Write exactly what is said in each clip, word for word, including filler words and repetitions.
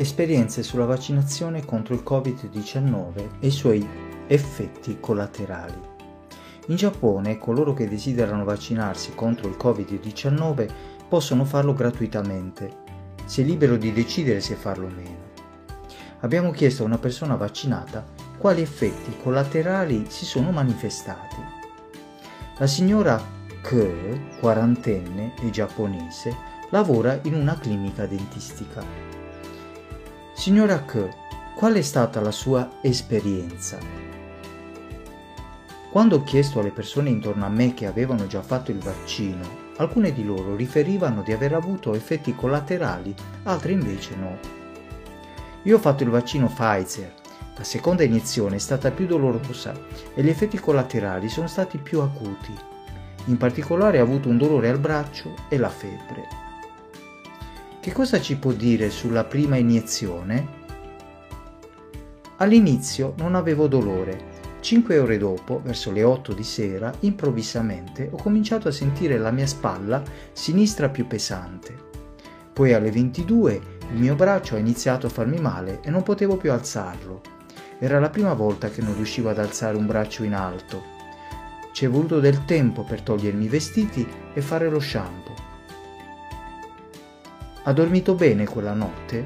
Esperienze sulla vaccinazione contro il covid diciannove e i suoi effetti collaterali. In Giappone, coloro che desiderano vaccinarsi contro il covid diciannove possono farlo gratuitamente. Si è libero di decidere se farlo o meno. Abbiamo chiesto a una persona vaccinata quali effetti collaterali si sono manifestati. La signora Ke, quarantenne e giapponese, lavora in una clinica dentistica. Signora Ke, qual è stata la sua esperienza? Quando ho chiesto alle persone intorno a me che avevano già fatto il vaccino, alcune di loro riferivano di aver avuto effetti collaterali, altre invece no. Io ho fatto il vaccino Pfizer. La seconda iniezione è stata più dolorosa e gli effetti collaterali sono stati più acuti. In particolare ho avuto un dolore al braccio e la febbre. Che cosa ci può dire sulla prima iniezione? All'inizio non avevo dolore. Cinque ore dopo, verso le otto di sera, improvvisamente ho cominciato a sentire la mia spalla sinistra più pesante. Poi alle ventidue il mio braccio ha iniziato a farmi male e non potevo più alzarlo. Era la prima volta che non riuscivo ad alzare un braccio in alto. Ci è voluto del tempo per togliermi i vestiti e fare lo shampoo. Ha dormito bene quella notte?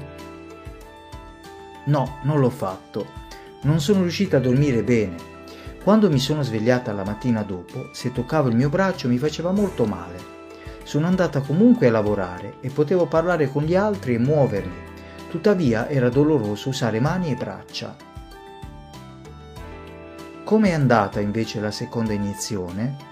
No, non l'ho fatto. Non sono riuscita a dormire bene. Quando mi sono svegliata la mattina dopo, se toccavo il mio braccio mi faceva molto male. Sono andata comunque a lavorare e potevo parlare con gli altri e muovermi. Tuttavia era doloroso usare mani e braccia. Come è andata invece la seconda iniezione?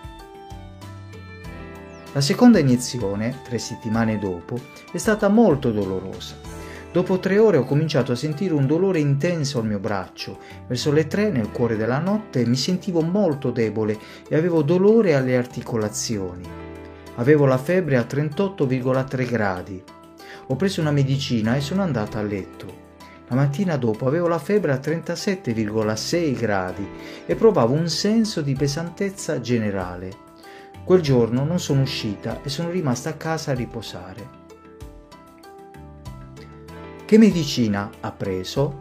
La seconda iniezione, tre settimane dopo, è stata molto dolorosa. Dopo tre ore ho cominciato a sentire un dolore intenso al mio braccio. Verso le tre, nel cuore della notte, mi sentivo molto debole e avevo dolore alle articolazioni. Avevo la febbre a trentotto virgola tre gradi. Ho preso una medicina e sono andata a letto. La mattina dopo avevo la febbre a trentasette virgola sei gradi e provavo un senso di pesantezza generale. Quel giorno non sono uscita e sono rimasta a casa a riposare. Che medicina ha preso?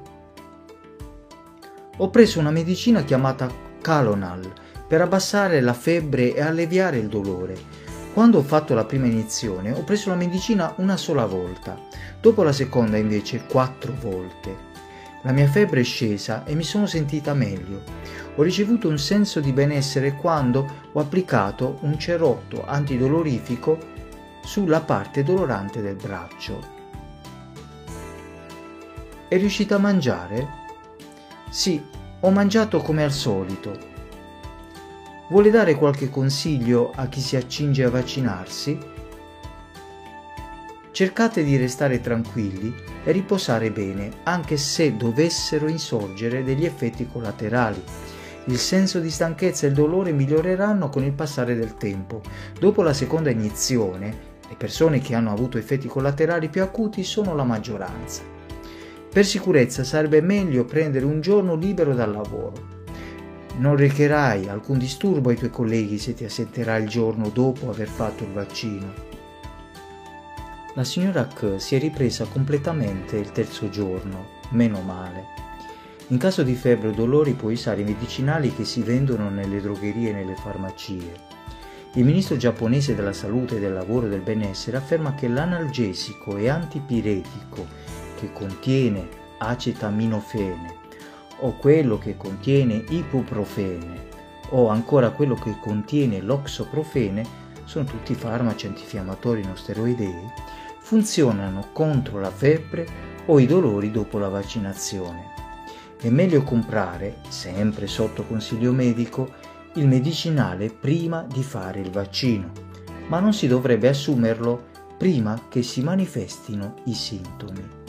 Ho preso una medicina chiamata Calonal per abbassare la febbre e alleviare il dolore. Quando ho fatto la prima iniezione ho preso la medicina una sola volta, dopo la seconda invece quattro volte. La mia febbre è scesa e mi sono sentita meglio. Ho ricevuto un senso di benessere quando ho applicato un cerotto antidolorifico sulla parte dolorante del braccio. È riuscita a mangiare? Sì, ho mangiato come al solito. Vuole dare qualche consiglio a chi si accinge a vaccinarsi? Cercate di restare tranquilli e riposare bene, anche se dovessero insorgere degli effetti collaterali. Il senso di stanchezza e il dolore miglioreranno con il passare del tempo. Dopo la seconda iniezione, le persone che hanno avuto effetti collaterali più acuti sono la maggioranza. Per sicurezza sarebbe meglio prendere un giorno libero dal lavoro. Non recherai alcun disturbo ai tuoi colleghi se ti assenterai il giorno dopo aver fatto il vaccino. La signora Ke si è ripresa completamente il terzo giorno, meno male. In caso di febbre o dolori puoi usare i medicinali che si vendono nelle drogherie e nelle farmacie. Il ministro giapponese della salute, del lavoro e del benessere afferma che l'analgesico e antipiretico che contiene acetaminofene o quello che contiene ibuprofene o ancora quello che contiene l'oxoprofene, sono tutti farmaci antinfiammatori non steroidei, funzionano contro la febbre o i dolori dopo la vaccinazione. È meglio comprare, sempre sotto consiglio medico, il medicinale prima di fare il vaccino, ma non si dovrebbe assumerlo prima che si manifestino i sintomi.